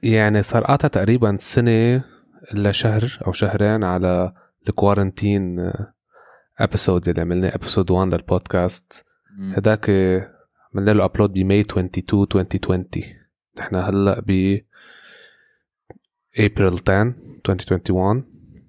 يعني صار قاطع تقريبا سنة إلا شهر أو شهرين على الكوارنتين ابيسود اللي عملناه ابيسود 1 للبودكاست. هداك عملنا له ابلود بماي 22 2020. نحن هلا ب April 10 2021.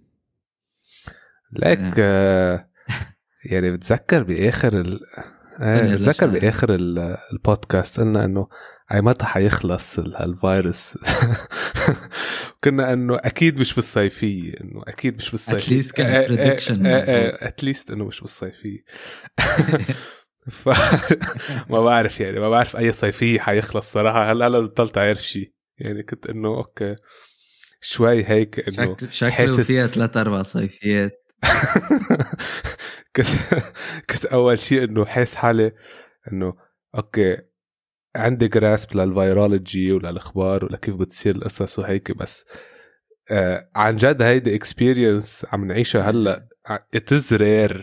لك يعني بتذكر بآخر بتذكر بآخر البودكاست قلنا انه اي متى حيخلص الفيروس. كنا انه اكيد مش بالصيفية، انه اكيد مش بالصيفية. اتليست كان بريدكشن اتليست انه مش بالصيفية. ما بعرف يعني ما بعرف اي صيفية حيخلص صراحة. هلا ضلت عارف شيء يعني كنت انه اوكي شوي هيك انه شكله فيها 3-4 صيفيات. كنت اول شيء انه حاس حالي انه اوكي عندي جراسب للفيرولوجي وللاخبار ولكيف بتصير القصص وهيك، بس عن جد هيدي اكسبيرينس عم نعيشها هلا. it is rare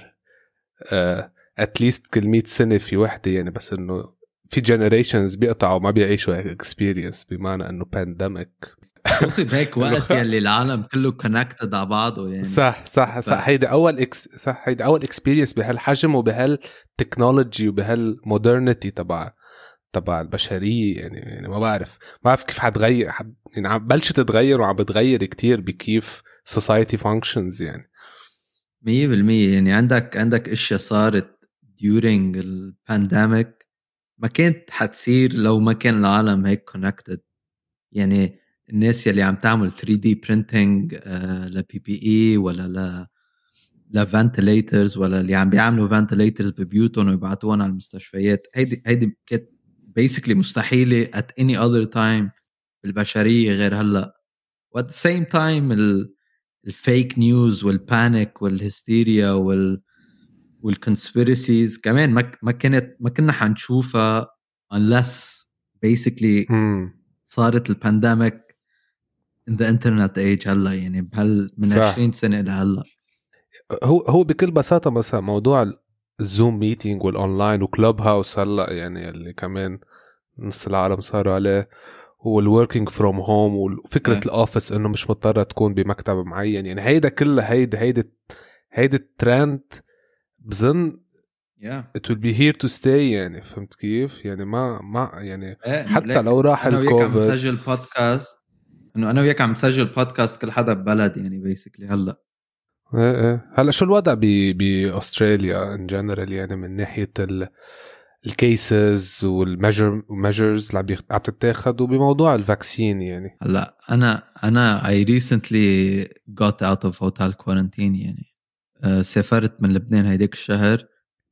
اتليست كل 100 سنة في وحدة يعني، بس انه في generations بيقطعوا ما بيعيشوا هيك experience، بمعنى انه pandemic خصوصي بهيك وقت يلي العالم كله connected على بعضه يعني. صح هيدا أول experience بهالحجم وبهالتكنولوجي وبهالمودرنتي تبع البشرية يعني ما بعرف كيف حتغير يعني عم بلشت تتغير وعم بتغير كتير بكيف society functions يعني 100%. يعني عندك اشياء صارت during البانديميك ما كانت حتصير لو ما كان العالم هيك connected. يعني الناس يلي عم تعمل 3D printing ل PPE ولا ل ventilators، ولا اللي عم بيعملوا ventilators ببيوتهم ويبعتوهم على المستشفيات، هيدي كانت basically مستحيلة at any other time بالبشرية غير هلأ. و at the same time الفيك نيوز والبانيك والهستيريا والconspiracies كمان ما كنا حنشوفها unless basically صارت البانديميك in the internet age هلا، يعني من 20 سنة لهلا. هو بكل بساطة مثلا موضوع الزوم ميتينج والأونلاين وكلوب هاوس هلا يعني اللي كمان نص العالم صاروا عليه، والوركينج فروم هوم وفكرة الأوفيس إنه مش مضطرة تكون بمكتب معين. يعني هيدا كله هيدا الترند بظن it will be here to stay يعني. فهمت كيف يعني ما يعني حتى لو راح الكوفيد. أنا وياك عم نسجل بودكاست كل حدا ببلد يعني basically هلا. هلا شو الوضع بأستراليا in general يعني من ناحية الكيسز والميجرز اللي عم تتاخد وبموضوع الفاكسين يعني؟ هلا أنا I recently got out of hotel quarantine يعني. سافرت من لبنان هيديك الشهر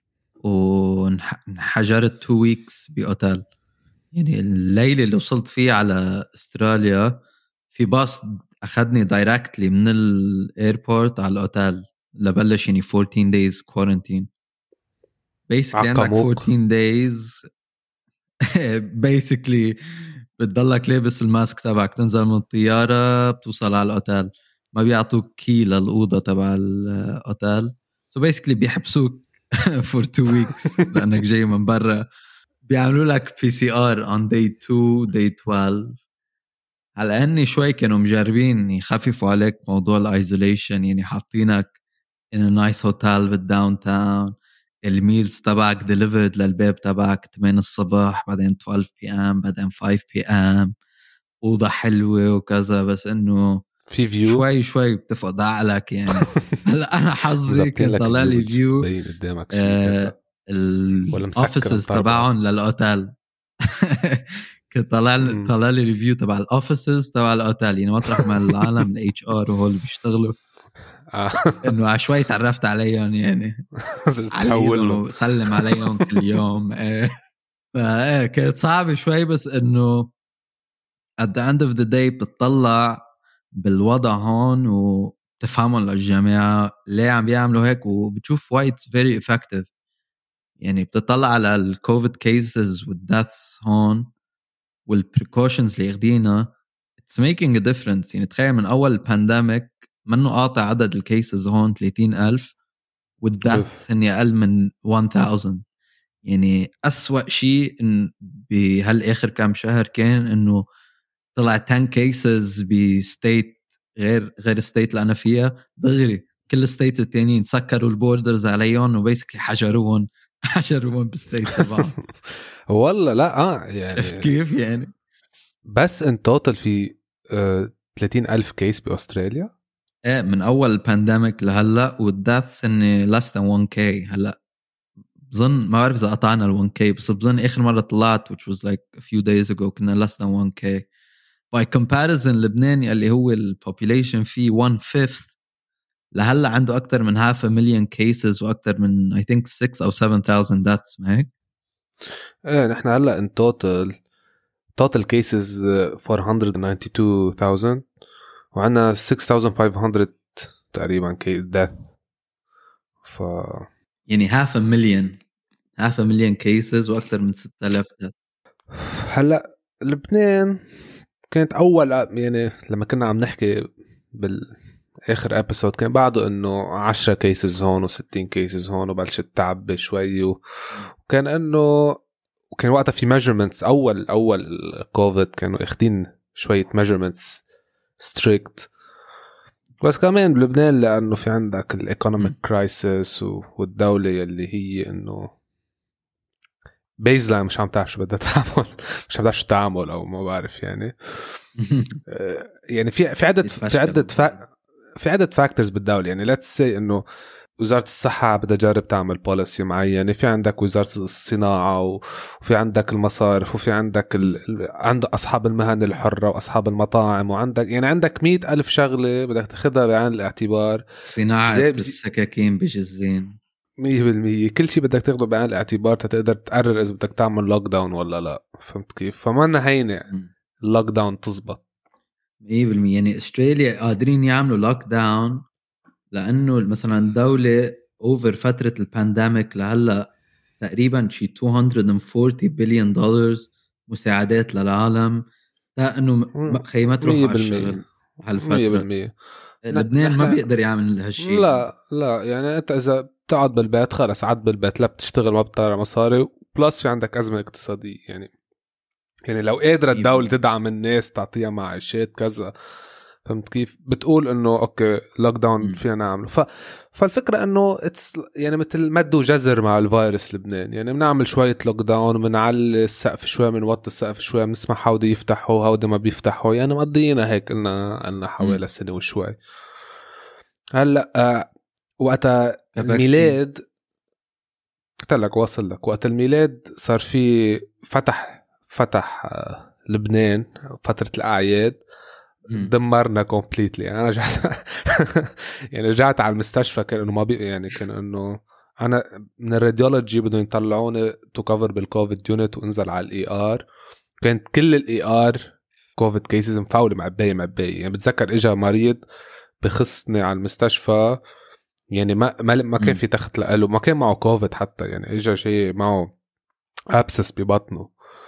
وانحجرت 2 weeks بأوتيل. يعني الليلة اللي وصلت فيه على استراليا في باص أخذني دايركتلي من الايربورت على الأوتيل لبلش يعني 14 days quarantine. basically عندك 14 days basically بتضلك لابس الماسك تبعك، تنزل من الطيارة بتوصل على الأوتيل، ما بيعطوك كي للأوضة تبع الأوتيل. so basically بيحبسوك for 2 weeks لأنك جاي من برا. بيعملوا لك PCR on day 2 day 12. على أني شوي كانوا مجربين يخففوا عليك موضوع الايزوليشن، يعني حاطينك in a nice hotel بالداون تاون، الميلز تبعك delivered للباب تبعك 8 الصبح، بعدين 12 PM، بعدين 5 PM، أوضة حلوة وكذا. بس إنه في فيو شوي بتفقد عقلك يعني. هلا أنا حظي كان طلع لي فيو قدامك شيء الأوفيسز تبعهم للأوتيل. كنت طلع لي ريفيو تبع الأوفيسز تبع الأوتيل، يعني مطرح ما العالم الاتش ار وهول بيشتغلوا انه عشوائي تعرفت عليهم يعني. عليهم سلم عليهم كل يوم. كانت صعبة شوي، بس انه at the end of the day بتطلع بالوضع هون وتفهمهم للجماعة ليه عم بيعملوا هيك، وبتشوف why it's very effective. يعني بتطلع على الكوفيد cases والdeaths هون والprecautions اللي ياخدينها it's making a difference. يعني تخيل من أول البانديميك منه قاطع عدد الكيسز هون 30,000 والdeaths هني أقل من 1000. يعني أسوأ شيء إن بهالآخر كام شهر كان إنه طلع 10 cases بستيت غير الستيت اللي أنا فيها دغري كل الستيت التانيين سكروا البوردرز عليهم وبيسكلي حجروهم بستيت تبعهم. والله لا يعني عرفت كيف يعني؟ بس ان توتال في 30,000 كيس بأستراليا ايه من اول البانديميك لهلا والداثس اني less than 1k. هلا بظن ما بعرف اذا قطعنا ال 1k بس بظن اخر مره طلعت which was like a few days ago كنا less than 1k. by comparison لبنان اللي هو البوبوليشن فيه 1/5 لهلا عنده اكثر من 500,000 cases واكثر من I think 6 أو 7,000 deaths. ما هيك؟ ايه نحن هلا ان total cases 492,000 وعنا 6,500 تقريبا death. ف يعني 500,000 cases واكثر من 6,000 death. هلا لبنان كانت اول يعني لما كنا عم نحكي بالاخر ابيسود كان بعده انه 10 كيسز هون و60 كيسز هون وبلشت تعب شوي وكان انه وكان وقتها في measurements اول كوفيد كانوا اخدين شويه measurements strict. بس كمان بلبنان لانه في عندك الايكونوميك كرايسيس والدوله اللي هي انه بيزلاين مش عم تعرف شو بدها تعمل مش عم تعرف شو تعمل او ما بعرف يعني يعني في عدة فاكتورز بالدولة. يعني let's say انه وزارة الصحة بدها تجرب تعمل بوليسي معينة. في عندك وزارة الصناعة وفي عندك المصارف وفي عندك عند أصحاب المهن الحرة وأصحاب المطاعم وعندك يعني عندك 100,000 شغلة بدك تاخدها بعين الاعتبار. صناعة السكاكين بجزين 100% كل شيء بدك تاخده بعين الاعتبار تقدر تقرر إذا بدك تعمل لوك داون ولا لا. فهمت كيف؟ فما هينة اللوك داون تزبط 100%. يعني استراليا قادرين يعملوا لوك داون لأنه مثلا الدولة أوفر فترة البانديميك لهلا تقريبا شي $240 بليون مساعدات للعالم لأنه خيمة تروح على الشغل هالفترة. لبنان ما بيقدر يعمل هالشيء. لا يعني أنت إذا بتقعد بالبيت خلص قعد بالبيت لا بتشتغل ما بتطلع مصاري بلس في عندك أزمة اقتصادية. يعني لو قادرة الدولة تدعم الناس تعطيها معاشات كذا فهمت كيف بتقول انه اوكي لوك داون فينا نعمله. فالفكرة انه يعني مثل مد وجزر مع الفيروس لبنان. يعني بنعمل شوية لوك داون بنعلي السقف شوية بنوطي السقف شوية بنسمع هودي يفتحوا هودي ما بيفتحوا. يعني مقضينا هيك قلنا حوالي سنة وشوي. هلا وقت الميلاد قلت واصل لك وقت الميلاد صار في فتح لبنان فترة الأعياد دمرنا كومبليتلي. أنا رجعت على المستشفى كان إنه ما يعني كان إنه أنا من الراديولوجي بدهم يطلعوني تو كفر بالكوفيد يونت وانزل على الإي آر. كانت كل الإي آر كوفيد كيسز مفاولة معباية. يعني بتذكر إجا مريض بخصني على المستشفى يعني ما كان في تخت لقاله ما كان معه كوفيد حتى. يعني إجا شيء معه أبسس ببطنه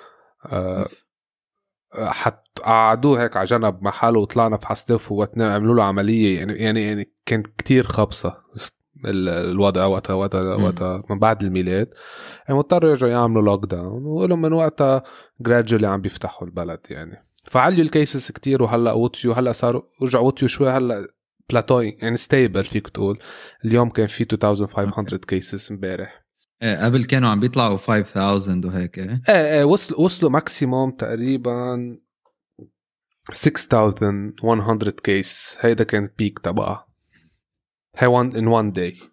حتى قعدوه هيك على جنب محله وطلعنا في حصدف وعملوا له عملية. يعني كانت كتير خبصة الوضع وقتها من بعد الميلاد. يعني مضطروا يرجعوا يعملوا لوك داون ولهم من وقتها gradually عم بيفتحوا البلد. يعني فعليوا الكيسز كتير وهلأ وطيوا هلأ صاروا رجعوا وطيوا شوي هلأ بلاتوي يعني ستيبل فيك تقول. اليوم كان في 2500 كيسز امبارح. قبل كانوا عم بيطلعوا 5000 وهيك. وصلوا ماكسيموم تقريبا 6100 كيس. هيدا كان بيك تبعها هي in one day.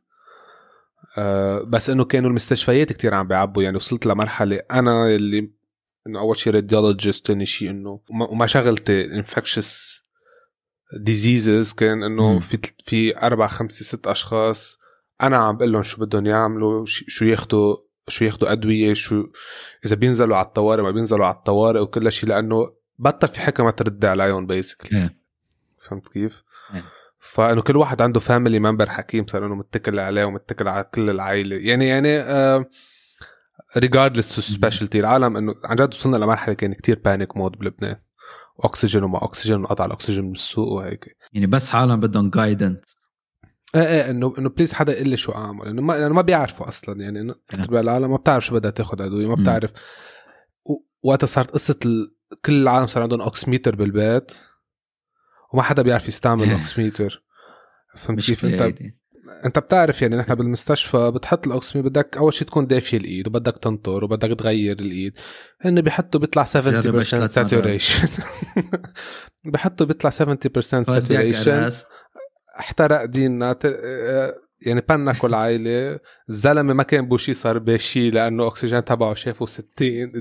بس انه كانوا المستشفيات كتير عم بيعبوا. يعني وصلت لمرحلة انا اللي انه اول شيء radiologist ثاني شيء انه وما شغلتي infectious diseases كان انه في 4 5 6 اشخاص انا عم بقول لهم شو بدهم يعملوا شو ياخدوا ادويه شو اذا بينزلوا على الطوارئ ما بينزلوا على الطوارئ وكل شيء لانه بطل في حكمه ترد عليهم بيسكلي. فهمت كيف؟ فانه كل واحد عنده فاميلي ممبر حكيم صار انه متكل عليه ومتكل على كل العائله. يعني regardless of specialty العالم انه عن جد وصلنا لمرحله كان كتير بانيك مود بلبنان. اكسجين وما اكسجين وقطع الاكسجين من السوق وهيك. يعني بس حالهم بدهم جايدنس. انه بليز حدا يقول لي شو اعمل. انه ما بيعرفوا اصلا. يعني انه العالم ما بتعرف شو بدها تاخد ادويه ما بتعرف. وقت صارت قصه كل العالم صار عندهم اوكسميتر بالبيت وما حدا بيعرف يستعمل اوكسميتر. فهمت كيف؟ انت بتعرف يعني نحن بالمستشفى بتحط الاوكسميتر بدك اول شيء تكون دافيه الايد وبدك تنطر وبدك تغير الايد. انه بيحطوا بيطلع 70% ساتوريشن بيحطوا بيطلع 70% ساتوريشن. احترق ديننا يعني بنك والعائلة. الزلمة ما كان بوشي صار باشي لأنه أكسجين تبعه شافه 60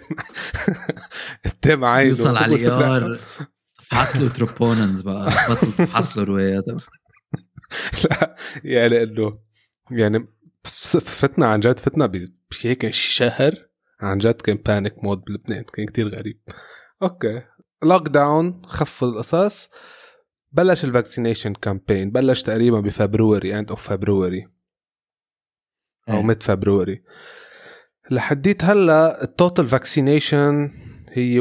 قدام عينه. يوصل على الإيار فحصلوا تروبوننز بقى بطل فحصلوا روايات. لا يعني إنه يعني فتنا عن جد فتنا بهيك شهر عن جد كان بانيك مود بلبنان كان كتير غريب. أوكي لوك داون خف القصص. بلش الفاكسينيشن كامبين بلش تقريبا بفبروري end of February أو mid February. لحديت هلا التوتال فاكسينيشن هي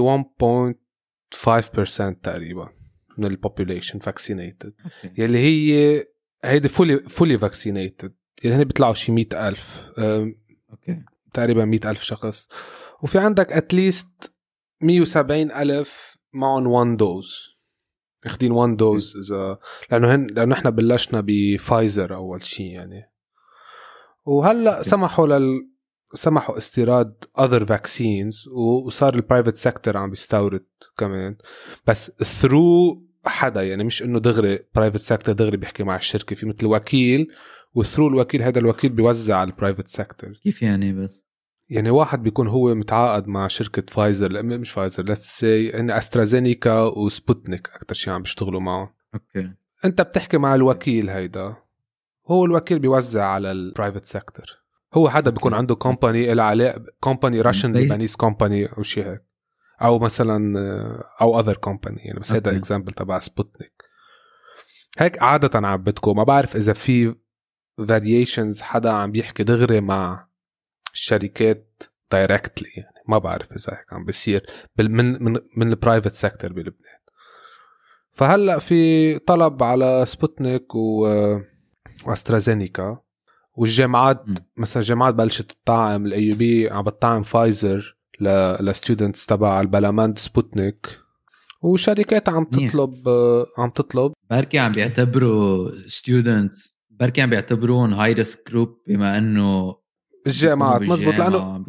1.5% تقريبا من البوبوليشن فاكسينيتد يلي هي هيدي fully vaccinated يعني هني بيطلعوا شي 100,000 تقريبا 100,000 شخص. وفي عندك at least 170,000 معهم 1 دوز اخدين 1 دوز إذا لأنه إحنا بلشنا بفايزر أول شيء يعني. وهلأ سمحوا استيراد other vaccines وصار البرايفت سيكتور عم بيستورد كمان بس through حدا يعني مش إنه دغري برايفت سيكتور دغري بيحكي مع الشركة في مثل وكيل وثرو الوكيل هذا الوكيل بيوزع على البرايفت سيكتور. كيف يعني؟ بس يعني واحد بيكون هو متعاقد مع شركة فايزر مش فايزر let's say إن أسترازينيكا وسبوتنيك أكتر شيء عم بيشتغلوا معه. أوكي أنت بتحكي مع الوكيل هيدا هو الوكيل بيوزع على البرايفت سيكتور. هو حدا بيكون عنده كومباني إلى علاقة كومباني راشن لبنانيز كومباني أو شيء هيك أو مثلا أو other company يعني بس هيدا example تبع سبوتنيك هيك عادة عم بتكون. ما بعرف إذا في variations حدا عم بيحكي دغري مع الشركات دايركتلي يعني ما بعرف إذا هيك عم بيصير من البرايفت سيكتور بلبنان. فهلأ في طلب على سبوتنيك واسترازينيكا والجامعات مثلا الجامعات بلشت تطعم الAUB عم بتطعم فايزر لستودنتس تبع البلاماند سبوتنيك وشركات عم تطلب بركي عم بيعتبروا ستودنتس بركي عم بيعتبرون هاي ريسك جروب بما انه الجامعات مزبوط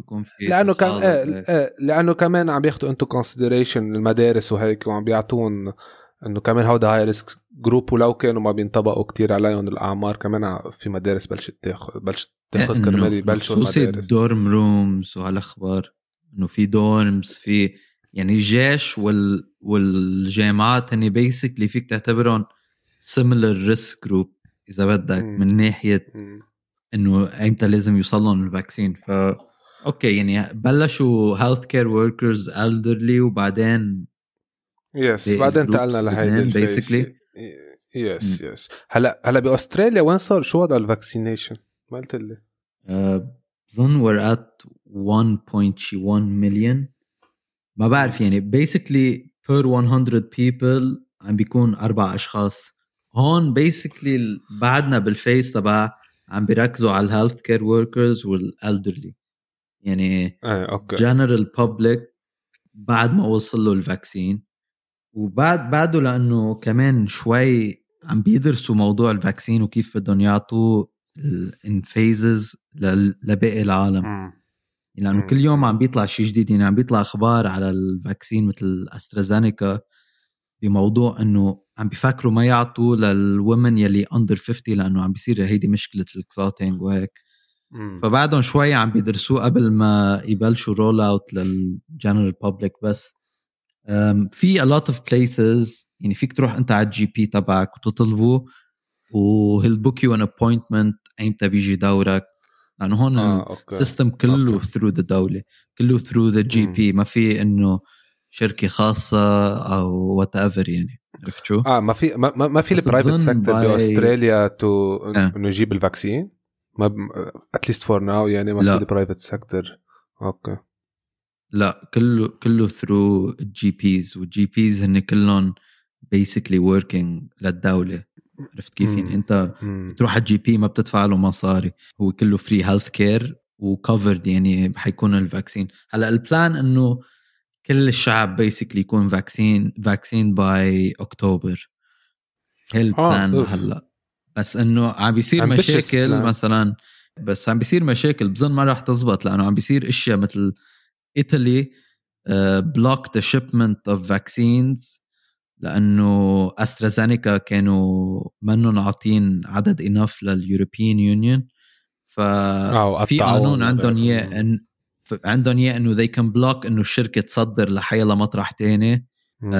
لانه كمان عم بياخدوا انتو كونسيدريشن المدارس وهيك وعم بيعطون انه كمان هودا هاي ريسك جروب ولو كانوا ما بينطبقوا كتير عليهم الاعمار كمان في مدارس بلشت تاخذ كرمال يبلشوا المدارس الدورم رومز وهالاخبار انه في دورمز في يعني الجيش والجامعات هني بيسكلي فيك تعتبرهم similar risk group اذا بدك من ناحيه انه ايمتى لازم يوصلون الفاكسين. اوكي يعني بلشوا health care workers elderly وبعدين بعدين انتقلنا لهيدي basically يس هلا باستراليا وين صار شو وضع الفاكسينيشن؟ ما قلت لي اظن we're at 1.1 million ما بعرف يعني basically per 100 people عم بيكون 4 أشخاص. هون basically بعدنا بالفيس تبع عم بيركزوا على الهيلث كير وركرز والالدرلي يعني general public بعد ما وصل له الفاكسين بعده لأنه كمان شوي عم بيدرسوا موضوع الفاكسين وكيف بدهم يعطوه in phases لباقي العالم لأنه كل يوم عم بيطلع شيء جديد. يعني عم بيطلع أخبار على الفاكسين مثل أسترازينيكا بموضوع أنه عم بيفكروا ما يعطوا للومن يلي under 50 لأنه عم بيصير هيدي مشكلة الكلوتينج وهيك. فبعدهم شوي عم بيدرسوه قبل ما يبلشوا رول اوت للجنرال بابليك. بس في a lot of places يعني فيك تروح أنت على الجي بي تبعك وتطلبه وهيل بوك يو an appointment أيمتى بيجي دورك لأنه هون السيستم كله through the دولة كله through the GP ما في إنه شركة خاصة أو whatever يعني عرفت شو؟ ما في البرايفت سيكتور بأستراليا إنه يجيب الفاكسين ما at least for now يعني ما في البرايفت سيكتور. أوكي لا كله through GPs والGPs هن كلهم basically working للدولة. عرفت كيف؟ يعني أنت بتروح على الجي بي ما بتدفع له مصاري هو كله free health care وcovered يعني حيكون الفاكسين. هلا البلان إنه كل الشعب بيسكلي يكون فاكسين باي أكتوبر. هي البلان هلا. بس انه عم بيصير مشاكل مثلا، بس عم بيصير مشاكل بظن ما راح تزبط، لانه عم بيصير اشياء مثل ايطالي بلوك ذا شيبمنت اوف فاكسينز، لانه استرازينيكا كانوا منهم عاطين عدد انف لليوروبيان يونيون، ففي قانون عندهم اياه انه they can block انه الشركه تصدر لحيلا مطرح تاني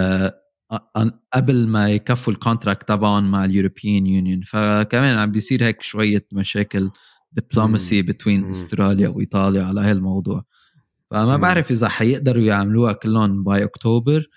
قبل ما يكفوا الكونتراكت تبعهم مع اليوروبيان يونيون. فكمان عم بيصير هيك شويه مشاكل دبلوماسي بين استراليا وايطاليا على هالموضوع. فما بعرف اذا حيقدروا يعملوها كلهم باي اكتوبر،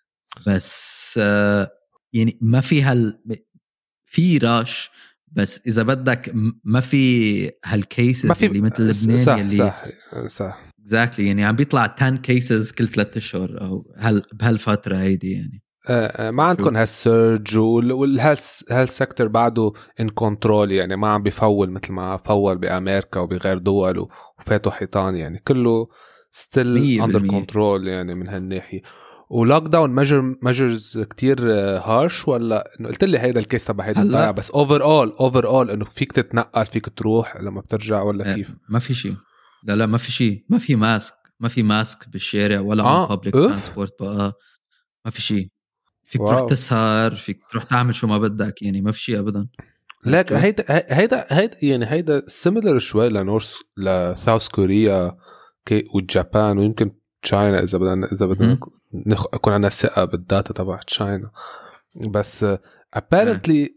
بس يعني ما في في راش، بس اذا بدك ما في هالكيسز اللي مثل لبنان صح يلي صح exactly يعني عم بيطلع 10 كيسز كل 3 اشهر او بهالفتره هيدي يعني. ما عندكم هالسيرج والهالسكتر بعده ان كنترول، يعني ما عم بيفول مثل ما فول بامريكا وبغير دول وفاتوا حيطان، يعني كله ستيل اندر كنترول يعني من هالناحيه. ولوك داون ميجرز كتير هارش، ولا انه قلت لي هيدا الكيس تبع هيدا الضيعه، بس اوفر اول انه فيك تتنقل فيك تروح لما بترجع ولا كيف؟ ما في شيء، لا ما في شيء، ما في ماسك بالشارع ولا عن بابليك ترانسبورت بقى، ما في شيء. فيك تروح تسهر، فيك تروح تعمل شو ما بدك، يعني ما في شيء ابدا. لك هيدا يعني هيدا سيميلر شوي لساوث كوريا والجابان ويمكن تشاينا اذا بدنا يكون عندنا ثقه بالداتا تبع تشاينا. بس apparently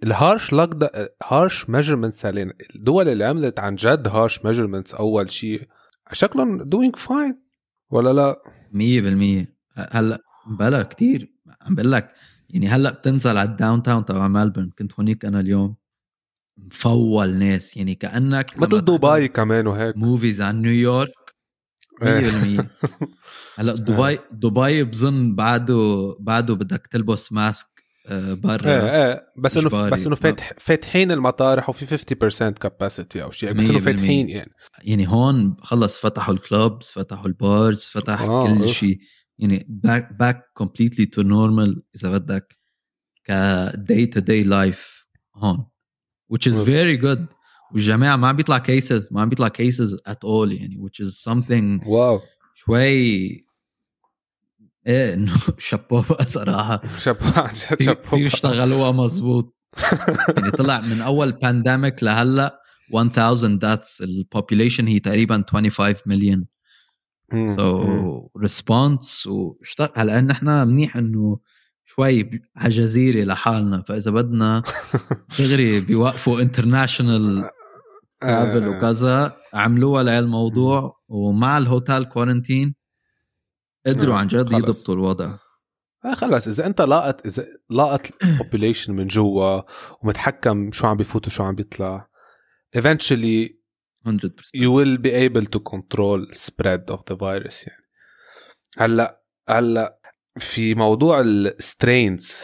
الهارش ميجرمنتس علينا الدول اللي عملت عن جد هارش ميجرمنتس اول شيء شكلهم doing fine ولا لا؟ 100%. هلا بلا كتير عم بقول لك، يعني هلا بتنزل على الداون تاون تبع ملبورن، كنت هونيك انا اليوم، مفول ناس يعني كأنك مثل دبي كمان وهيك موفيز عن نيويورك 100%. هلا دبي بظن بعده بدك تلبس ماسك برا بس انه فاتحين المطارح وفي 50% كاباسيتي او شيء، بس انه فاتحين يعني هون خلص فتحوا الكلوبز، فتحوا البارز، فتح كل شيء، يعني back completely to normal اذا بدك ك day to day life هون which is very good. والجماعة ما عم بيطلع cases at all يعني which is something شوي ايه انه شابو صراحة كتير اشتغلوها مزبوط. يعني طلع من اول بانديميك لهلا 1000 deaths، البوبوليشن هي تقريبا 25 مليون. so response هلا نحن منيح انه شوي على جزيرة لحالنا، فاذا بدنا دغري بيوقفوا انترناشونال ترافل وكذا عملوها لهالموضوع، ومع الهوتيل كورنتين قدروا عن جد يضبطوا الوضع. خلص اذا انت لاقط population من جوا ومتحكم شو عم بيفوت وشو عم بيطلع eventually 100% you will be able to control spread of the virus. يعني هلا في موضوع السترينز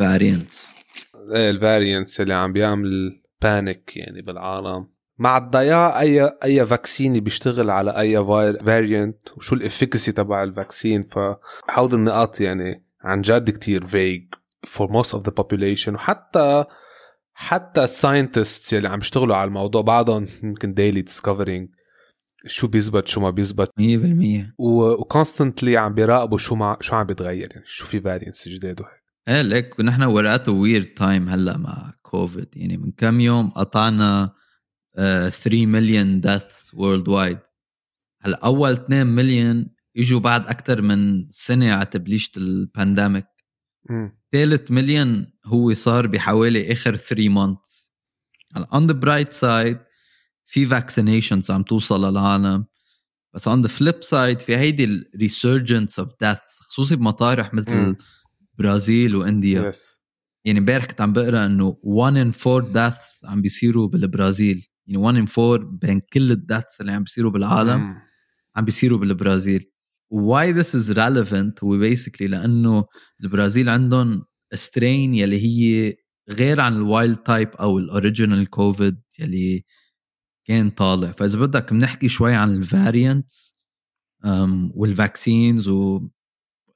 الفاريانتس اللي عم بيعمل بانيك يعني بالعالم مع الضياع اي فاكسين بيشتغل على اي فاريانت وشو الافيكاسي تبع الفاكسين. فهود النقاط يعني عن جد كتير vague for most of the population، وحتى الساينتستس اللي عم يشتغلوا على الموضوع بعضهم يمكن daily discovering شو بيزبط شو ما بيزبط 100%، وكونستنتلي عم بيراقبوا شو عم بيتغير، يعني شو في فاريانتس جديد وهيك. لك ونحن ورقته ويرد تايم هلا مع كوفيد، يعني من كم يوم قطعنا 3 مليون deaths worldwide. هلا اول 2 مليون اجوا بعد اكثر من سنه على تبليشه البانديميك. ثالث مليون هو صار بحوالي اخر 3 months. هلا on the bright side في vaccinations عم توصل للعالم، بس on the flip side في هيدي resurgence of deaths خصوصي بمطارح مثل برازيل وانديا. يعني امبارح كنت عم بقرا انه 1 in 4 deaths عم بيصيروا بالبرازيل، يعني 1 in 4 بين كل الديثs اللي عم بيصيروا بالعالم عم بيصيروا بالبرازيل. why this is relevant هو basically لانه البرازيل عندهم strain يلي هي غير عن الوايلد تايب او الاوريجينال كوفيد يلي كان طالع. فاذا بدك بنحكي شوي عن الفاريانتس والفاكسينز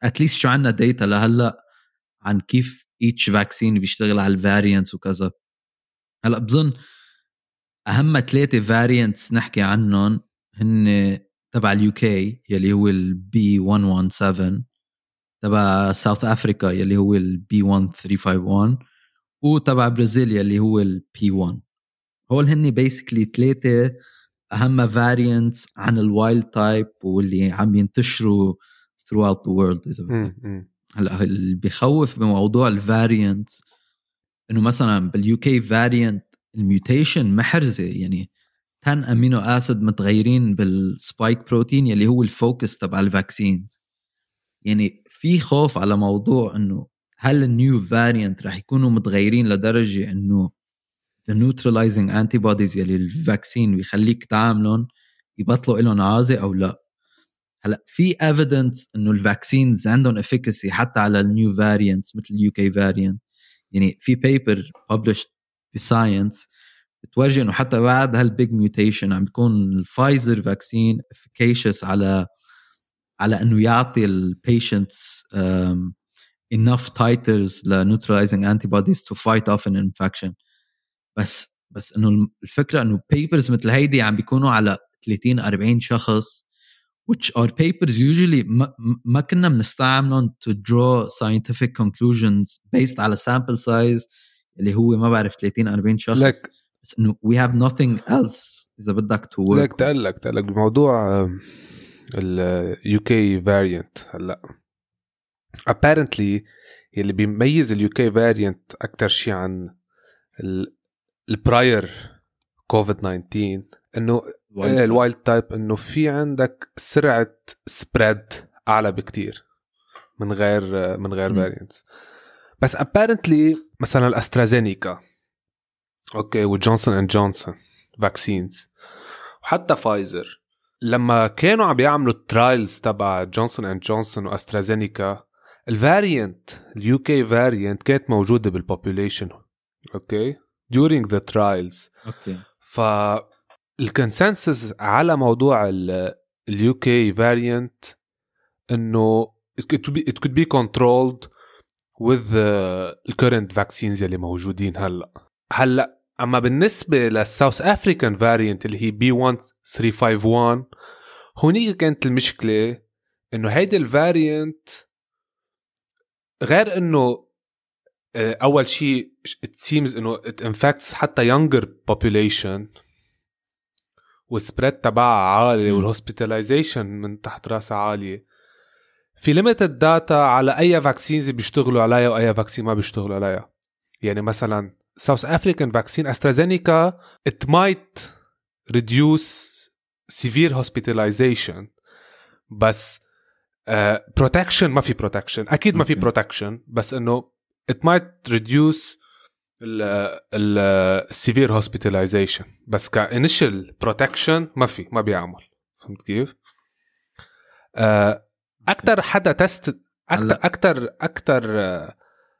اتليست شو عنا داتا لهلا عن كيف each vaccine بيشتغل على الفاريانتس وكذا. هلا بظن اهم 3 فاريانتس نحكي عنهم هن تبع اليوكي يلي هو البي 117، تبع ساوث افريكا يلي هو البي 1351، وتبع برازيل يلي هو البي 1. هول هن بيسكلي 3 اهم فاريانتس عن الوايلد تايب واللي عم ينتشروا throughout the world إذا بدك. هلا اللي بيخوف بموضوع الفاريانتس انه مثلا باليوكي فاريانت الميوتيشن محرزه، يعني 10 امينو اسيد متغيرين بالسبايك بروتين يلي هو الفوكس تبع الفاكسينز. يعني في خوف على موضوع انه هل النيو فاريانت رح يكونوا متغيرين لدرجه انه the neutralizing antibodies يلي الفاكسين بيخليك تعاملهم يبطلوا لهم عازة او لا. هلا في evidence انه الفاكسينز عندهم efficacy حتى على النيو فاريانتس مثل اليوكي فاريانت. يعني في paper published بساينس بتورجي انه حتى بعد هالبيج ميوتيشن عم بيكون الفايزر فاكسين efficacious على انه يعطي البيشنتس enough titers ل neutralizing antibodies to fight off an infection. بس انه الفكره انه papers مثل هيدي عم بيكونوا على 30-40 شخص which are papers usually ما كنا بنستعملهم to draw scientific conclusions based على sample size اللي هو ما بعرف 30-40 شخص. بس انه we have nothing else اذا بدك to work. لك تقلك بموضوع ال UK variant. هلا apparently يلي بيميز ال UK variant أكتر شيء عن البراير كوفيد-19 إنه الوايلد تايب إنه في عندك سرعة سبريد أعلى بكتير من غير variants. بس apparently مثلا الأسترازينيكا أوكي وجونسون أند جونسون vaccines وحتى فايزر لما كانوا عم يعملوا الترايلز تبع جونسون أند جونسون وأسترازينيكا الفاريانت اليوكي فاريانت كانت موجودة بالبوبوليشن اوكي during the trials. اوكي فالكونسنسس على موضوع اليوكي فاريانت انه it could be controlled with the current vaccines اللي موجودين هلا. اما بالنسبة للساوث افريكان فاريانت اللي هي B1351 هونيك كانت المشكلة انه هيدا الفاريانت غير انه اول شيء it seems انه it infects حتى younger population والسبريد تبعها عالي والهوسبيتاليزيشن من تحت راسها عالية. في limited data على اي فاكسينز بيشتغلوا عليها واي فاكسين ما بيشتغلوا عليها. يعني مثلا South African vaccine AstraZeneca it might reduce severe hospitalization بس protection ما في protection أكيد ما في protection بس إنه it might reduce ال severe hospitalization بس كinitial protection ما بيعمل. فهمت كيف؟ أكتر حدا تست أكتر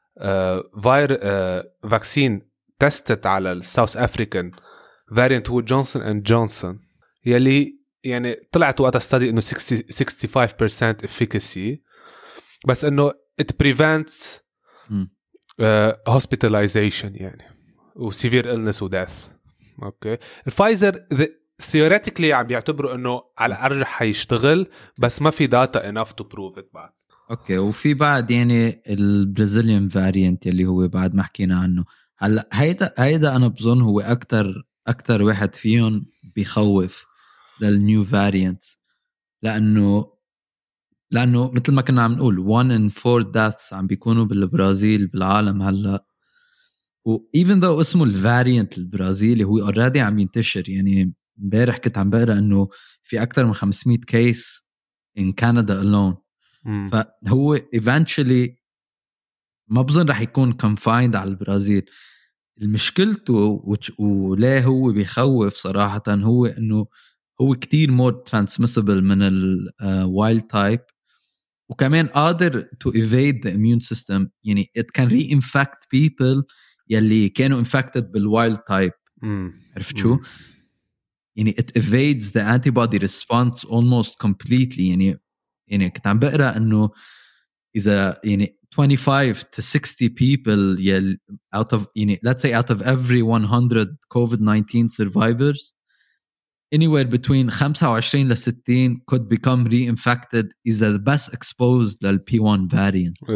vaccine tested على الساوث أفريكان variant هو جونسون أند جونسون يلي يعني طلعت وقتها study إنه 65% efficacy بس إنه it prevents hospitalization يعني و severe illness و death. أوكي الفايزر theoretically عم بيعتبروا إنه على أرجح حيشتغل بس ما في data enough to prove it بعد. اوكي وفي بعد يعني البرازيليان فاريانت اللي هو بعد ما حكينا عنه. هلا هيدا انا بظن هو اكتر واحد فيهم بيخوف للنيو فاريانت لانه مثل ما كنا عم نقول 1 in 4 deaths عم بيكونوا بالبرازيل بالعالم هلا. و even though اسمه الفاريانت البرازيلي هو already عم ينتشر. يعني امبارح كنت عم بقرا انه في اكتر من 500 كيس in Canada alone. فهو eventually ما بظن رح يكون confined على البرازيل. المشكلته وليه هو بيخوف صراحة هو انه هو كتير more transmissible من wild type وكمان قادر to evade the immune system. يعني it can reinfect people يلي كانوا infected بالwild type. عرفت شو؟ يعني it evades the antibody response almost completely. يعني كنت عم بقرأ انه إذا يعني 25 to 60 people out of يعني let's say out of every 100 COVID-19 survivors anywhere between 25 ل 60 could become reinfected إذا best exposed لل P1 variant.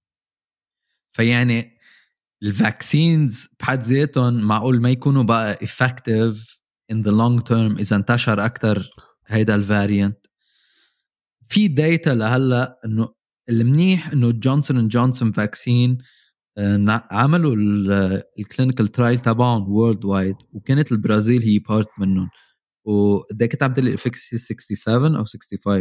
فيعني الفاكسينز بحد ذاتهم معقول ما يكونوا بقى effective in the long term إذا انتشر أكتر هيدا الفاريانت. في داتا لهلا إنه المنيح إنه جونسون & جونسون فاكسين عملوا الكلينيكال ترايل تبعهم وورلد وايد وكانت البرازيل هي بارت منهم وده كنت عم تقلي الافكسي 67 أو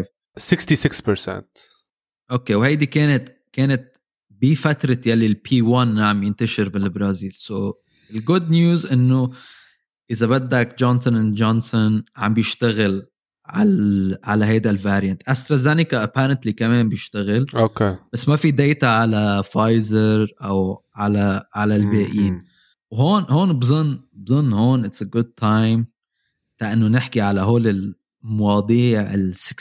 65 66%. أوكي وهيدي كانت بفترة يلي البي 1 عم ينتشر بالبرازيل. سو الجود نيوز إنه إذا بدك جونسون & جونسون عم بيشتغل على هيدا الفاريانت. أسترازينيكا apparently كمان بيشتغل أوكي بس ما في داتا على فايزر أو على الباقيين. وهون بظن هون it's a good time لأنه نحكي على هول المواضيع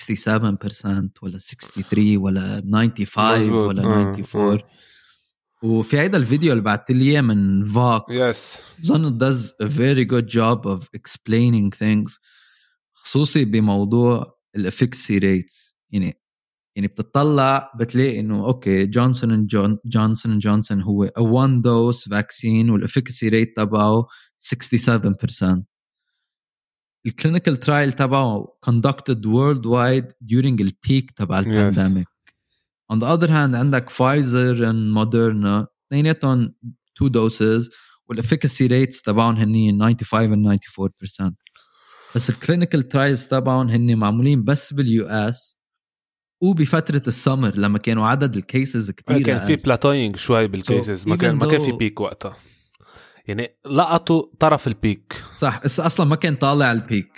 67% ولا 63 ولا 95 ولا 94. وفي هيدا الفيديو اللي بعت لي من فوكس بظن does a very good job of explaining things خصوصي بموضوع الافكسي ريتس. يعني بتطلع بتلاقي انه اوكي جونسون جونسون هو a one dose vaccine والافكسي ريت تبعه 67%. الكلينيكال ترايل تبعه conducted worldwide during the peak تبع البانديميك. On the other hand عندك Pfizer and Moderna اثنيناتهم 2 doses والافكسي ريتس تبعهم هني 95 and 94%. بس الكلينيكال ترايلز تبعهم هني معمولين بس باليو اس وبفترة السمر لما كانوا عدد الكيسز كتير كان في بلاتوينج شوي بالكيسز ما كان في بيك وقتها يعني لقطوا طرف البيك صح اصلا ما كان طالع البيك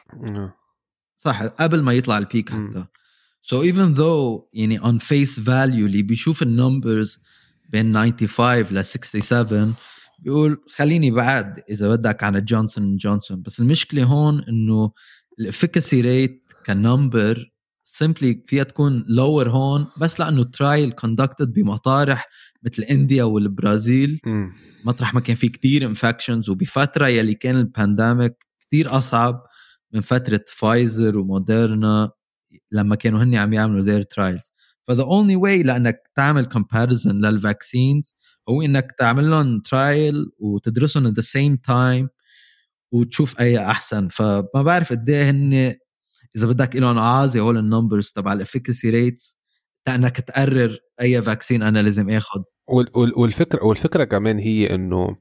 صح قبل ما يطلع البيك حتى. So even though يعني on face value اللي بيشوف النمبرز بين 95 ل 67 بيقول خليني بعد إذا بدك عن جونسون & جونسون. بس المشكلة هون إنه الافكاسي ريت كنمبر simply فيها تكون lower هون بس لأنه trial conducted بمطارح مثل إنديا والبرازيل مطرح ما كان في كتير infections وبفترة يلي كان البانديميك كتير أصعب من فترة فايزر وموديرنا لما كانوا هني عم يعملوا their trials. فthe only way لأنك تعمل comparison للفاكسينز هو إنك تعمل لهم trial وتدرسهم at the same time وتشوف أي أحسن. فما بعرف قديه هن إذا بدك إلهم عازي هول النمبرز تبع الافكاسي ريتس لأنك تقرر أي فاكسين أنا لازم أخذ. والفكرة كمان هي إنه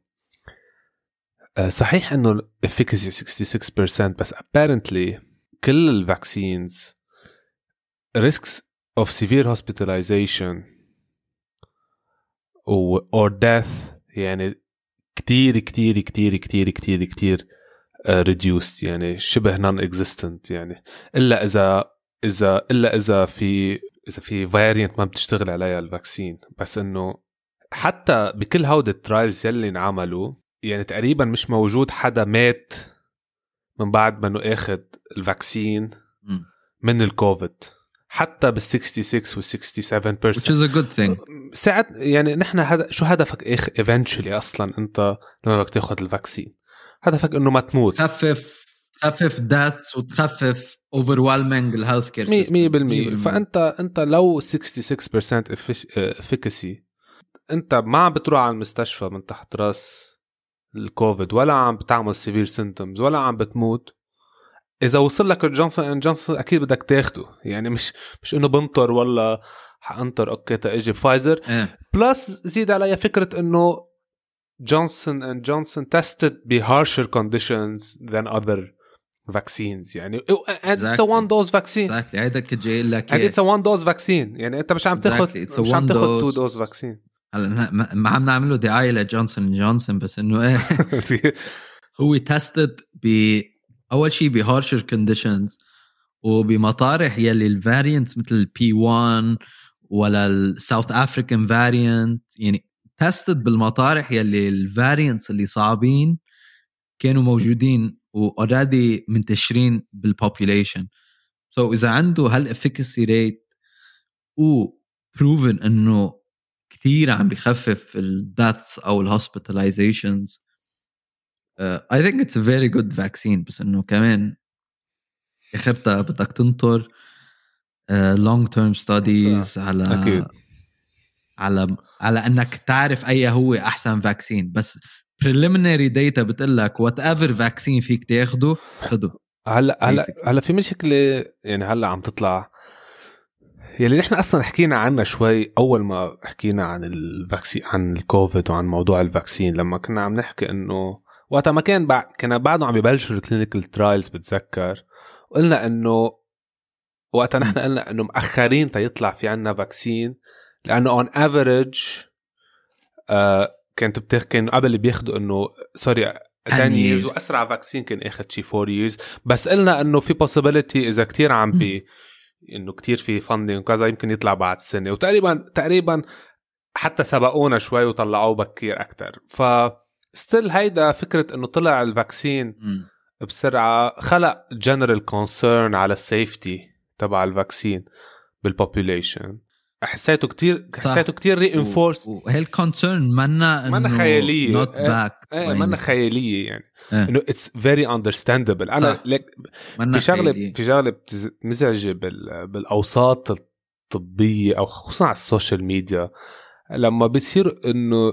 صحيح إنه الافكاسي 66% بس apparently كل الفاكسينز risks of severe hospitalization or death يعني كتير كتير كتير كتير كتير كتير reduced يعني شبه non-existent يعني إلا إذا في variant ما بتشتغل عليها الفاكسين. بس إنه حتى بكل هودة الترايلز يلي نعملوا يعني تقريبا مش موجود حدا مات من بعد ما انه اخذ الفاكسين من الكوفيد حتى بال 66 و 67%, which is a good thing. ساعات يعني نحن شو هدفك eventually اصلا انت لما بدك تاخذ الفاكسين هدفك انه ما تموت, تخفف deaths وتخفف overwhelming الهيلث كير سيستم 100%. فانت لو 66% efficacy انت ما عم بتروح على المستشفى من تحت راس الكوفيد ولا عم بتعمل سيفير سيمبتومز ولا عم بتموت, اذا وصل لك جونسون & جونسون اكيد بدك تاخده. يعني مش انه بنطر ولا حانطر اوكي تاجي فايزر بلس زيد عليها فكره انه جونسون & جونسون tested ب harsher conditions than other vaccines يعني and it's a one dose vaccine. exactly هيدا كجاي لك and it's a one dose vaccine يعني انت مش عم تاخذ مش عم تاخذ 2 dose vaccine. هلا ما عم نعمله دعايه لجونسون & جونسون بس انه ايه هو تستد اول شيء بهارشر كونديشنز وبمطارح يلي الفاريانتس مثل البي 1 ولا الساوث افريكان فاريانت يعني تستد بالمطارح يلي الفاريانتس اللي صعبين كانوا موجودين واوريدي منتشرين بالبوبوليشن. سو اذا عنده هالافيكاسي ريت و proven انه كتير عم بيخفف الdeaths او الhospitalizations. I think it's a very good vaccine, بس انه كمان اخرتها بدك تنطر long term studies أكيد. على انك تعرف اي هو احسن فاكسين. بس preliminary data بتقلك whatever vaccine فيك تاخده خده. هلا في مشكلة يعني هلا عم تطلع يلي نحن اصلا حكينا عنها شوي اول ما حكينا عن الفاكسين، عن الكوفيد وعن موضوع الفاكسين، لما كنا عم نحكي انه وقتها ما كنا بعده عم يبلشوا الكلينيكال ترايلز بتذكر، قلنا انه وقتها نحن قلنا انه مأخرين تيطلع في عنا فاكسين لانه on average كانوا قبل بياخدوا انه سوري 10 years واسرع فاكسين كان اخذ شي 4 years. بس قلنا انه في possibility اذا كتير عم بي انه كتير في funding وكذا يمكن يطلع بعد سنة، وتقريبا حتى سبقونا شوي وطلعوه بكير اكتر. فستيل هيدا فكرة انه طلع الفاكسين بسرعة خلق general concern على السيفتي تبع الفاكسين بالبوبوليشن. حسيته كتير reinforced. وهي الكونسيرن منا خيالية not back منا خيالية يعني انه it's very understandable. انا في شغلة مزعجة بالاوساط الطبية او خصوصا على السوشيال ميديا لما بتصير انه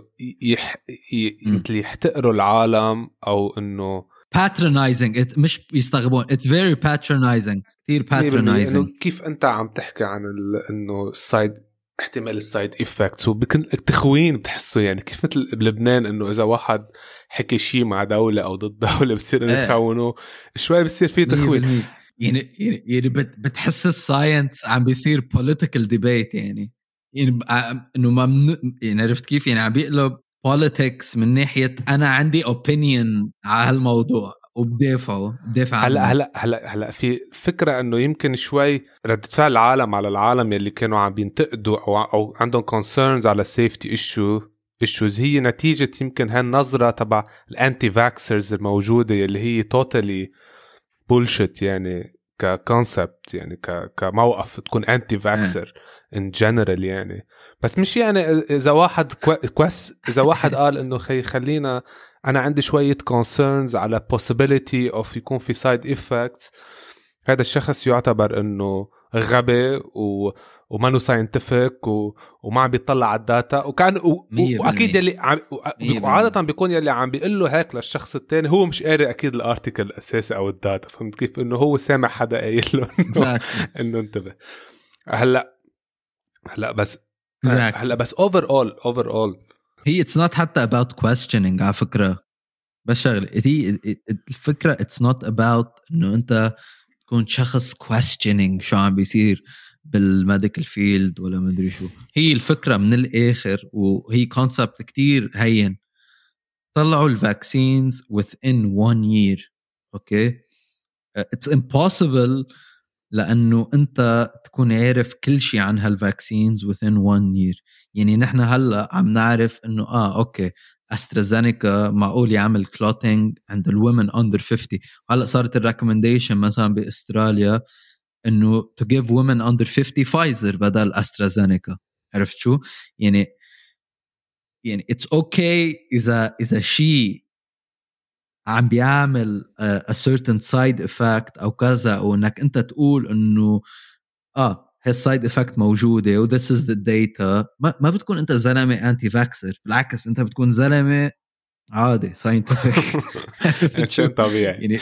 مثل يحتقروا العالم او انه patronizing مش يستغربون. it's very patronizing كتير patronizing. كيف انت عم تحكي عن انه احتمال السايد إفكتس وبكن تخوين بتحسه يعني كيف مثل بلبنان انه اذا واحد حكي شيء مع دولة او ضد دولة بصير انه يخونوا شوي، بصير فيه تخوين يعني بتحس الساينس عم بيصير political debate يعني انه ممنوع يعني. عرفت كيف يعني عم بيقلب politics من ناحية انا عندي opinion على هالموضوع وبدافع عنه. هلا في فكرة انه يمكن شوي ردة فعل العالم على العالم يلي كانوا عم بينتقدوا او عندهم concerns على safety issues هي نتيجة يمكن هالنظرة تبع الانتي فاكسرز الموجودة يلي هي totally bullshit يعني كconcept يعني كموقف تكون انتي فاكسر in general يعني. بس مش يعني اذا واحد اذا واحد قال انه خلينا انا عندي شوية concerns على possibility of يكون في side effects، هذا الشخص يعتبر انه غبي ومانو scientific وما عم بيطلع على الداتا وكان واكيد يلي عادة بيكون يلي عم بيقول له هيك للشخص التاني هو مش قاري اكيد الارتيكل الاساسي او الداتا. فهمت كيف انه هو سامع حدا قايل له انه انتبه. هلا بس overall هي it's not حتى about questioning على فكرة. بس شغله هي الفكرة it's not about انه انت تكون شخص questioning شو عم بيصير بالميديكال فيلد ولا مدري شو. هي الفكرة من الآخر وهي concept كتير هين. طلعوا الفاكسينز within 1 year. okay it's impossible لأنه أنت تكون عارف كل شيء عن هالفاكسينز within 1 year. يعني نحن هلأ عم نعرف أنه أوكي أسترازينيكا معقول يعمل كلوتينج عند الwomen under 50. هلأ صارت الريكومنديشن مثلا بأستراليا أنه to give women under 50 فايزر بدل أسترازينيكا. عرفت شو يعني it's okay إذا شيء عم بيعمل a certain side effect أو كذا أو أنك أنت تقول أنه هالسايد effect موجودة و this is the data. ما بتكون أنت زلمة anti vaxxer، بالعكس أنت بتكون زلمة عادي scientific. شيء طبيعي يعني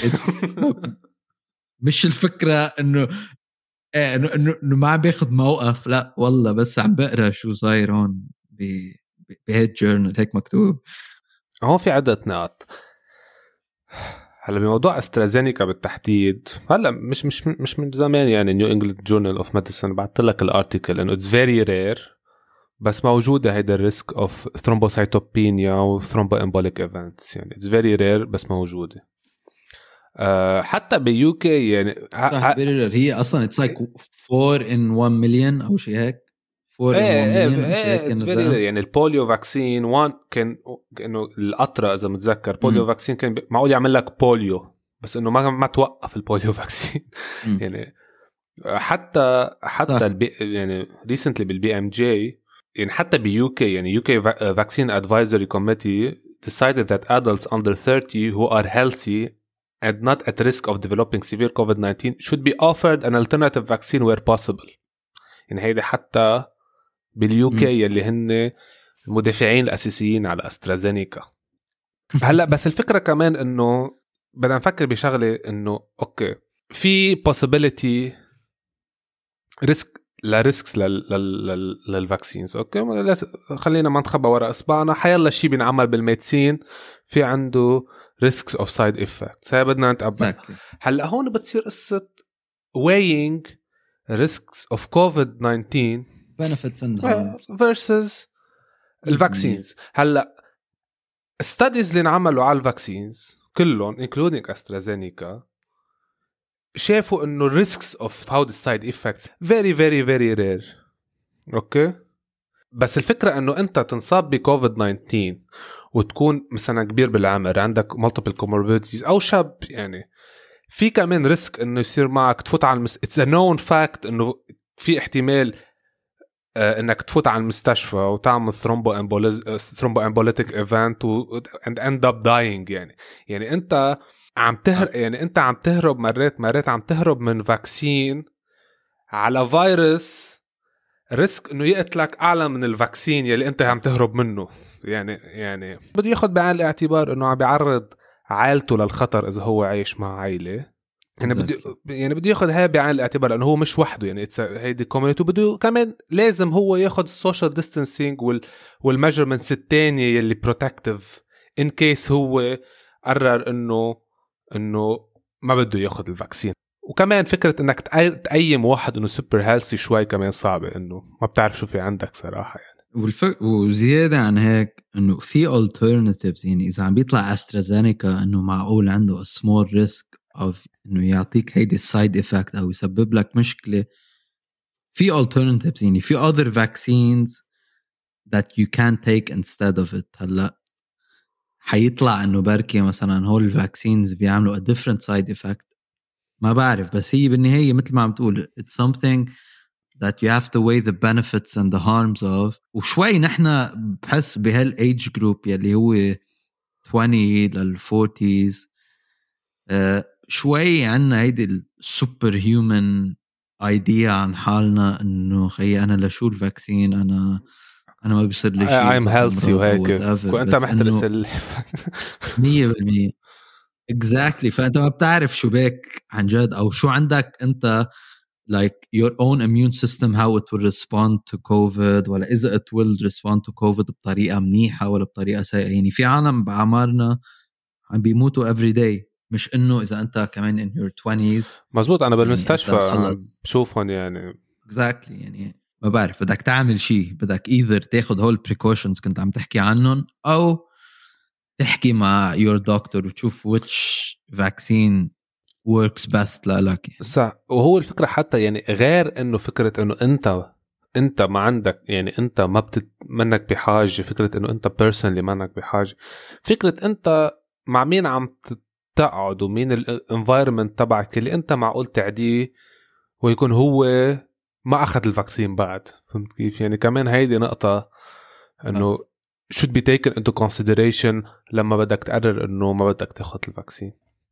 مش الفكرة أنه ما عم بياخد موقف، لا والله بس عم بقرأ شو صاير هون بهيد جورنال هيك مكتوب. هون في عدة نقاط. هلا بموضوع أسترازينيكا بالتحديد هلا مش من زمان يعني نيو انجلاند جورنال اوف ميديسن بعت لك الارتيكل انه اتس فيري رير بس موجوده هيدا الريسك اوف ثرومبوسايتوبينيا وثرومبو امبوليك ايفنتس يعني اتس فيري رير بس موجوده. حتى بيو كي يعني هي اصلا اتس لايك 4 in 1 مليون او شيء هيك. 4 in 1 مليون يعني البوليو فاكسين 1 كان انه القطره اذا متذكر بوليو فاكسين كان معقول يعمل لك بوليو بس انه ما توقف البوليو فاكسين يعني حتى يعني recently بالبي ام جي يعني حتى بيوكي يعني UK Vaccine Advisory Committee decided that adults under 30 who are healthy and not at risk of developing severe COVID-19 should be offered an alternative vaccine where possible. يعني هيدا حتى باليوكي يلي هن المدافعين الأساسيين على أسترازينيكا. هلأ بس الفكرة كمان إنه بدنا نفكر بشغلة إنه أوكي في possibility ريسكس للفاكسينز. اوكي خلينا ما نخبى وراء اصبعنا، حيلا شيء بينعمل بالميديسين في عنده ريسكس اوف سايد افكتس، هاي بدنا نتقبل. هلا هون بتصير قصه weighing risks of COVID-19 benefits and harms versus الفاكسينز. هلا studies اللي انعملوا على الفاكسينز كلهم including AstraZeneca شافوا انه risks of how the side effects very very very rare. اوكي بس الفكرة انه انت تنصاب بكوفيد 19 وتكون مثلا كبير بالعمر عندك multiple comorbidities او شاب، يعني في كمان ريسك انه يصير معك تفوت على it's a known fact انه في احتمال انك تفوت على المستشفى وتعمل thromboembolic event and end up dying. يعني انت عم يعني انت عم تهرب مرات عم تهرب من فاكسين على فيروس ريسك انه يقتلك اعلى من الفاكسين يلي انت عم تهرب منه. يعني بده ياخد بعين الاعتبار انه عم بيعرض عائلته للخطر اذا هو عايش مع عائله. يعني بده ياخد هاي بعين الاعتبار لانه هو مش وحده، يعني هيدي كوميونيتي، بده كمان لازم هو ياخد السوشيال ديستانسينج والميجرمنتس الثانيه يلي بروتكتيف ان كيس هو قرر انه ما بده ياخد الفاكسين. وكمان فكره انك تقيم واحد انه سوبر هيلثي شوي كمان صعبه، انه ما بتعرف شو في عندك صراحه يعني. وزياده عن هيك انه في alternatives، يعني اذا عم بيطلع أسترازينيكا انه معقول عنده small risk او انه يعطيك هيدي السايد افكت او يسبب لك مشكله، في alternatives، يعني في other vaccines that you can take instead of it. هلا حيطلع انه بركي مثلا هول الفاكسينز بيعملوا a different side effect، ما بعرف، بس هي بالنهايه مثل ما عم تقول it's something that you have to weigh the benefits and the harms of. وشوي نحن بحس بهالage group يلي هو 20 لل40s شوي عنا هيدي السوبر هيومن ايديا عن حالنا انه خي انا لشو الفاكسين، انا ما بيصير لي شيء I'm healthy وهيك وانت محترس 100% exactly. فانت ما بتعرف شو بك عن جد او شو عندك انت like your own immune system how it will respond to COVID، ولا إذا it will respond to COVID بطريقة منيحة ولا بطريقة سيئة. يعني في عالم بعمرنا عم بيموتوا every day، مش إنه إذا أنت كمان in your 20s. مزبوط، أنا بالمستشفى يعني بشوفهم يعني exactly. يعني ما بعرف بدك تعمل شيء، بدك either تاخد هول precautions كنت عم تحكي عنهم أو تحكي مع your doctor وتشوف which vaccine works best لك يعني. صح. وهو الفكرة حتى يعني غير انه فكرة انه انت ما عندك، يعني انت ما منك بحاجة، فكرة انه انت personally منك بحاجة، فكرة انت مع مين عم تقعد ومين الانفايرمنت تبعك اللي انت معقول تعديه ويكون هو ما اخذ الفاكسين بعد. فهمت كيف؟ يعني كمان هيدي نقطة انه should be taken into consideration لما بدك تقرر انه ما بدك تاخذ الفاكسين.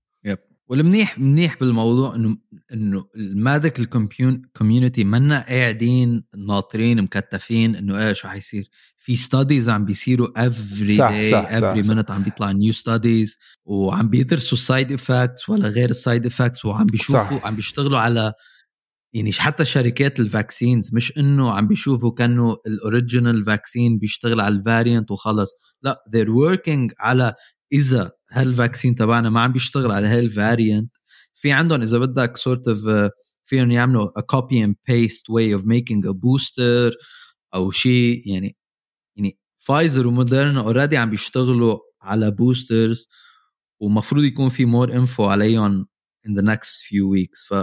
والمنيح بالموضوع انه الميديكال كوميونتي منا قاعدين ناطرين مكتفين انه ايه شو حيصير. في ستاديز عم بيصيروا every day every minute عم بيطلع نيو ستاديز وعم بيدرسوا السايد افكتس ولا غير السايد افكتس، وعم بيشوفوا عم بيشتغلوا على يعني حتى شركات الفاكسينز مش انه عم بيشوفوا كانوا الاوريجينال فاكسين بيشتغل علل الفاريانت وخلص، لا they're working على إذا هالفاكسين تبعنا ما عم بيشتغل على هالفاريانت، في عندهم إذا بدك sort of فيهم يعملوا a copy and paste way of making a booster أو شيء. يعني فايزر وموديرنا already عم بيشتغلوا على boosters ومفروض يكون في more info عليهم in the next few weeks.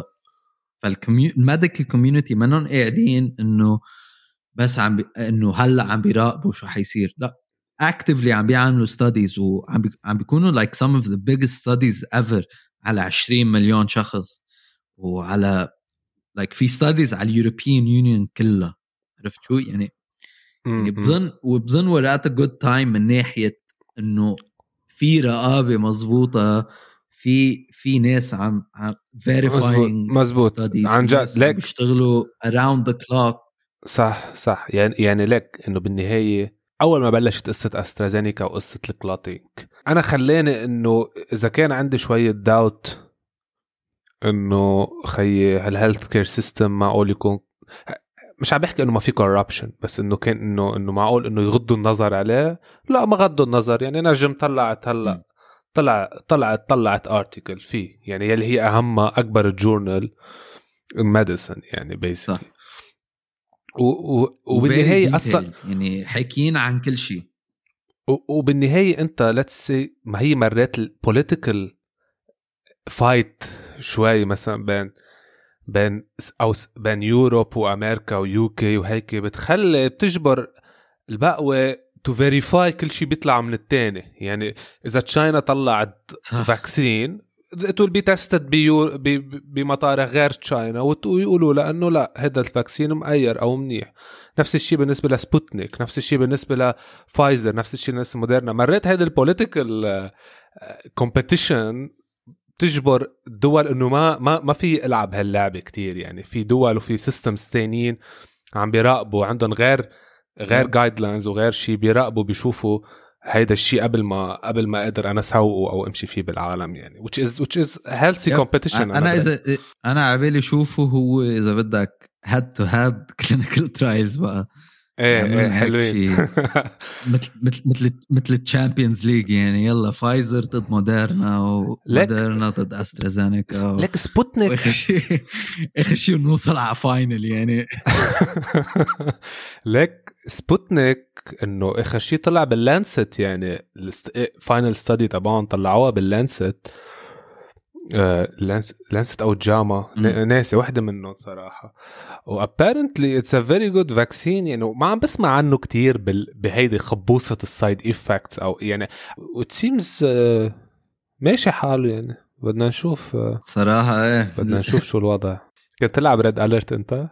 فالميديكال كوميونتي منهم قاعدين إنه بس إنه هلأ عم بيراقبوا شو حيصير، لا actively عم بيعملوا studies وعم بيكونوا like some of the biggest studies ever على 20 مليون شخص وعلى like في studies على اليوروبيان يونيون كلها. عرفت شو يعني بظن ورقات good time من ناحية إنه في رقابة مظبوطة، في ناس عم verifying مزبوط عن جد لك بيشتغلوا around the clock. صح يعني لك إنه بالنهاية أول ما بلشت قصة أسترازينيكا وقصة الكلوتينج أنا خلاني إنه إذا كان عندي شوية داوت إنه خي هالهيلث كير سيستم معقول يكون، مش عم بحكي إنه ما في corruption، بس إنه كان إنه معقول إنه يغضوا النظر عليه. لا ما غضوا النظر يعني. نجم طلعت هلا طلعت article فيه يعني يلي هي أهمها أكبر جورنال ميديسن يعني basically. وبالنهاية أصلا يعني حكيين عن كل شيء. وبالنهاية أنت let's say ما هي مرات political fight شوي مثلا بين يوروب وأمريكا ويوكي وهيك بتجبر البقوة to verify كل شيء بيطلع من التاني. يعني إذا تشاينا طلعت فاكسين it will be tested بمطارح غير تشاينا ويقولوا لأنه لا هذا الفاكسين مأير أو منيح. نفس الشيء بالنسبة لسبوتنيك، نفس الشيء بالنسبة لفايزر، نفس الشيء بالنسبة لموديرنا. مرات هذا البوليتيكال كومبيتيشن تجبر الدول انه ما في العب هاللعبه كتير. يعني في دول وفي سيستمز ثانيين عم بيراقبوا، عندهم غير جايدلاينز وغير شيء بيراقبوا بيشوفوا هيدا الشيء قبل ما اقدر انا اسوقه او امشي فيه بالعالم يعني which is healthy competition. انا عبالي شوفه هو اذا بدك head to head clinical trials بقى. ايه حلوين مثل الشامبيونز ليج يعني. يلا فايزر ضد موديرنا وموديرنا ضد استرازينيكا لك سبوتنيك اخر شيء نوصل على فاينل يعني. لك سبوتنيك انه اخر شيء طلع باللانست يعني فاينل ستادي تبعهم طلعوها باللانست لانست او جاما ناسي واحدة منهم صراحة. و apparently it's a very good vaccine يعني. ما عم بسمع عنه كتير بهيدي خبوصة السايد effects او يعني it seems ماشي حاله يعني. بدنا نشوف صراحة ايه بدنا نشوف شو الوضع. كنت تلعب ريد أليرت انت؟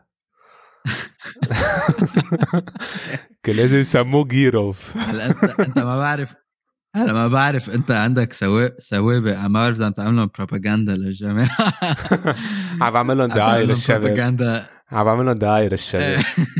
كان لازم يسموه جيروف. انت ما بعرف انت عندك سوابق. ما بعرف اذا عم تعمل لهم بروباغندا للجماعه. عم بعمل لهم دعايه للشباب. عم بعمل لهم دعايه للشباب.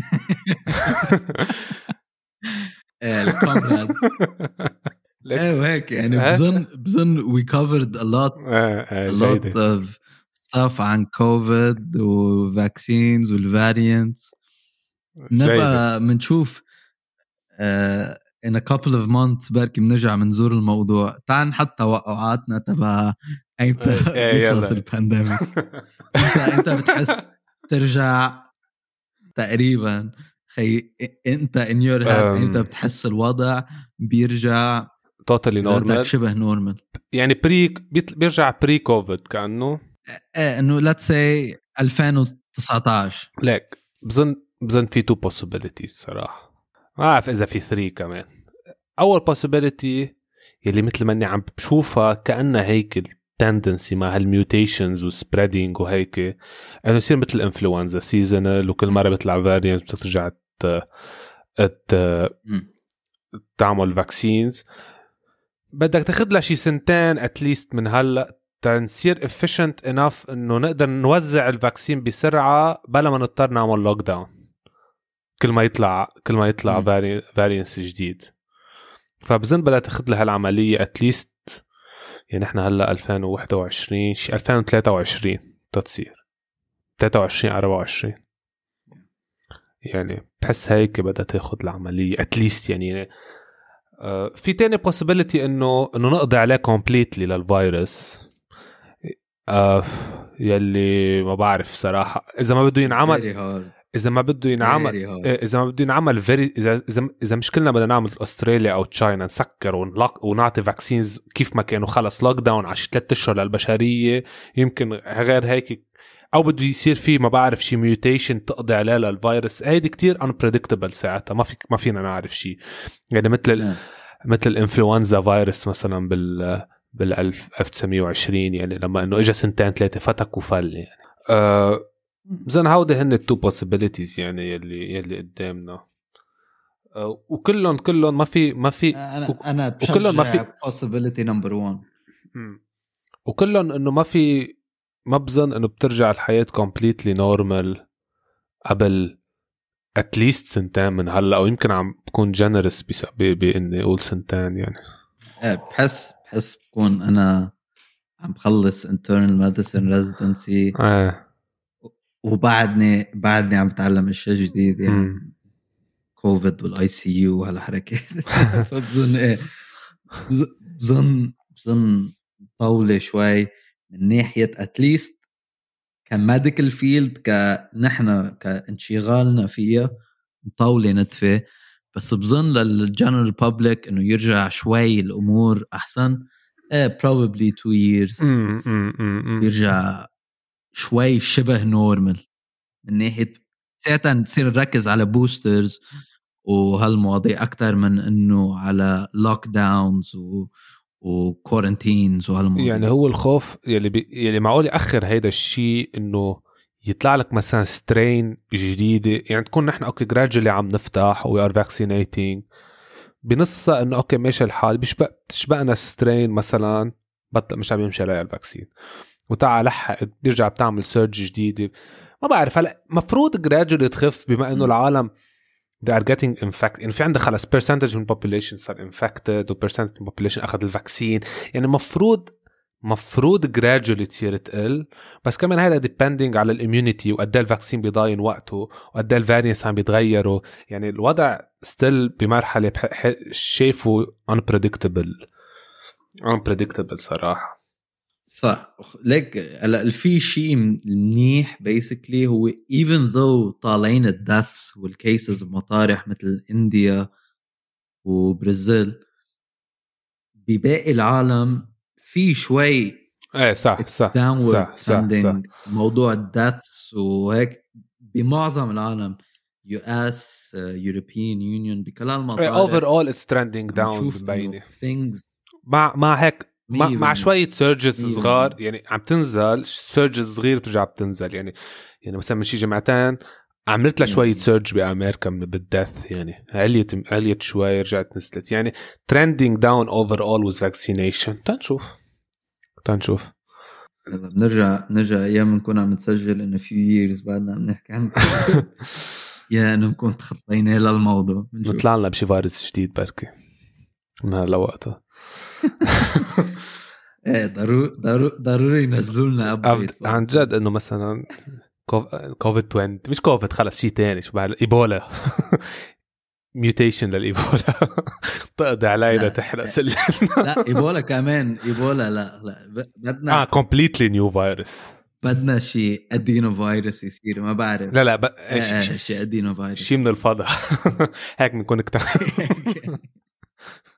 الكومرادز ايه وهيك يعني. بظن we covered a lot of stuff عن كوفيد وفاكسينز والفاريانتس. نبقى منشوف in a couple of months بركي بنرجع منزور الموضوع. تعال نحط توقعاتنا تبع ايمتى يخلص البانديميك. انت بتحس ترجع تقريبا خي انت in your head انت بتحس الوضع بيرجع totally normal شبه نورمال يعني بيرجع بري كوفيد كأنه انه let's say 2019. لك بظن في 2 possibilities صراحة. ما أعرف إذا في 3 كمان. أول possibility يلي مثل ما أني عم بشوفها كأنها هيك التندنسي مع هالميوتيشنز وسبريدينج وهيك إنه يصير مثل الإنفلونزا سيزونال وكل مرة بيطلع فاريانت بترجع تعمل فاكسينز. بدك تاخد لها شي 2 سنين أتليست من هلأ تنصير efficient enough إنه نقدر نوزع الفاكسين بسرعة بلا ما نضطر نعمل لوك داون كل ما يطلع فاريانس جديد. فبظن بدها تاخد لها العملية اتليست يعني احنا هلا 2021 2023 تصير 23 24 يعني بحس هيك بدها تاخد العملية اتليست يعني. في تاني possibility انه نقضي عليه completely للفيروس. يلي ما بعرف صراحة اذا ما بده ينعمل إذا ما بده ينعمل إذا مش كلنا بدنا نعمل أستراليا أو تشاينا نسكر ونعطي فاكسينز كيف ما كانوا خلص لوك داون على 3 أشهر للبشرية يمكن غير هيك. أو بده يصير فيه ما بعرف شي ميوتيشن تقضي عليه للفيروس. هيدي كتير unpredictable ساعتها ما فينا نعرف شي يعني مثل الإنفلونزا فيروس مثلا بال 1920 يعني لما إنه إجا 2 3 فتك وفل يعني. زين هودي هن التو possibilities يعني يلي قدامنا. وكلهم ما في انا بشجع possibility number 1. وكلهم انه ما بظن انه بترجع الحياة completely normal قبل at least سنتين من هلا، او يمكن عم بكون generous باني اقول سنتين يعني. بحس بكون انا عم بخلص internal medicine residency وبعدني عم بتعلم اشياء جديد يعني كوفيد والاي سي يو وهالحركات. فبظن بظن طولة شوي من ناحية اتليست كميديكال فيلد، كنحن كانشغالنا فيها طولة نتفة. بس بظن للجنرال بابليك انه يرجع شوي الامور احسن. probably 2 years يرجع شوي شبه نورمال من ناحية ساعتها نصير نركز على بوسترز وهالمواضيع أكتر من إنه على لوك داونز وكورنتينز وهالمواضيع. يعني هو الخوف يلي معقول يأخر هيدا الشيء إنه يطلع لك مثلا سترين جديدة، يعني تكون نحن أوكي gradually عم نفتح we are vaccinating بنصها إنه أوكي ماشي الحال بتشبقنا سترين مثلا بطل مش عم يمشي عليها الفاكسين وتعال لحق بيرجع بتعمل سيرج جديدة. ما بعرف هلا مفروض gradually تخف بما إنه العالم they are getting infected. يعني في عندك خلاص percentage من population صار infected و percentage من population أخذ الفاكسين، يعني مفروض gradually تصير تقل. بس كمان هذا depending على الاميونيتي وقد الفاكسين بيضاين وقته وقد الفاريانس عم بيتغيروا. يعني الوضع still بمرحلة شايفه unpredictable صراحة. صح. ليك في شيء منيح basically هو even though طالعين الdeaths والcases بمطارح مثل إنديا وبرازيل، بباقي العالم في شوي صح موضوع الdeaths وهيك بمعظم العالم US European Union بكل المطارح overall it's trending down ببيني مع هيك مع شوية سيرجز صغار، يعني عم تنزل سيرجز صغير وترجع بتنزل. يعني مثلا من شي جمعتين عملت لها شوية سيرج بأمريكا بالدث، يعني عليت شوي رجعت نزلت. يعني trending down overall with vaccination. تنشوف نرجع أيام نكون عم نسجل إنه few years بعدنا عم نحكي عن يا إنه نكون تخطينا للموضوع نطلع لنا بشي فيروس جديد بركي من هلا وقتها. ضروري ينزلوا لنا ابديت عن جد انه مثلا كوفيد 20 مش كوفيد خلص شيء تاني شو بعد ايبولا ميوتيشن للايبولا تقضي علينا تحرق سلمنا. لا ايبولا كمان ايبولا لا بدنا كومبليتلي نيو فيروس. بدنا شيء ادينو فيروس يصير ما بعرف. لا شيء ادينو فيروس شيء من الفضاء هيك بنكون اكتشفنا.